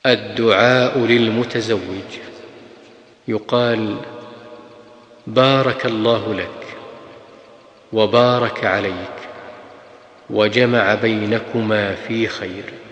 الدعاء للمتزوج. يقال: بارك الله لك وبارك عليك وجمع بينكما في خير.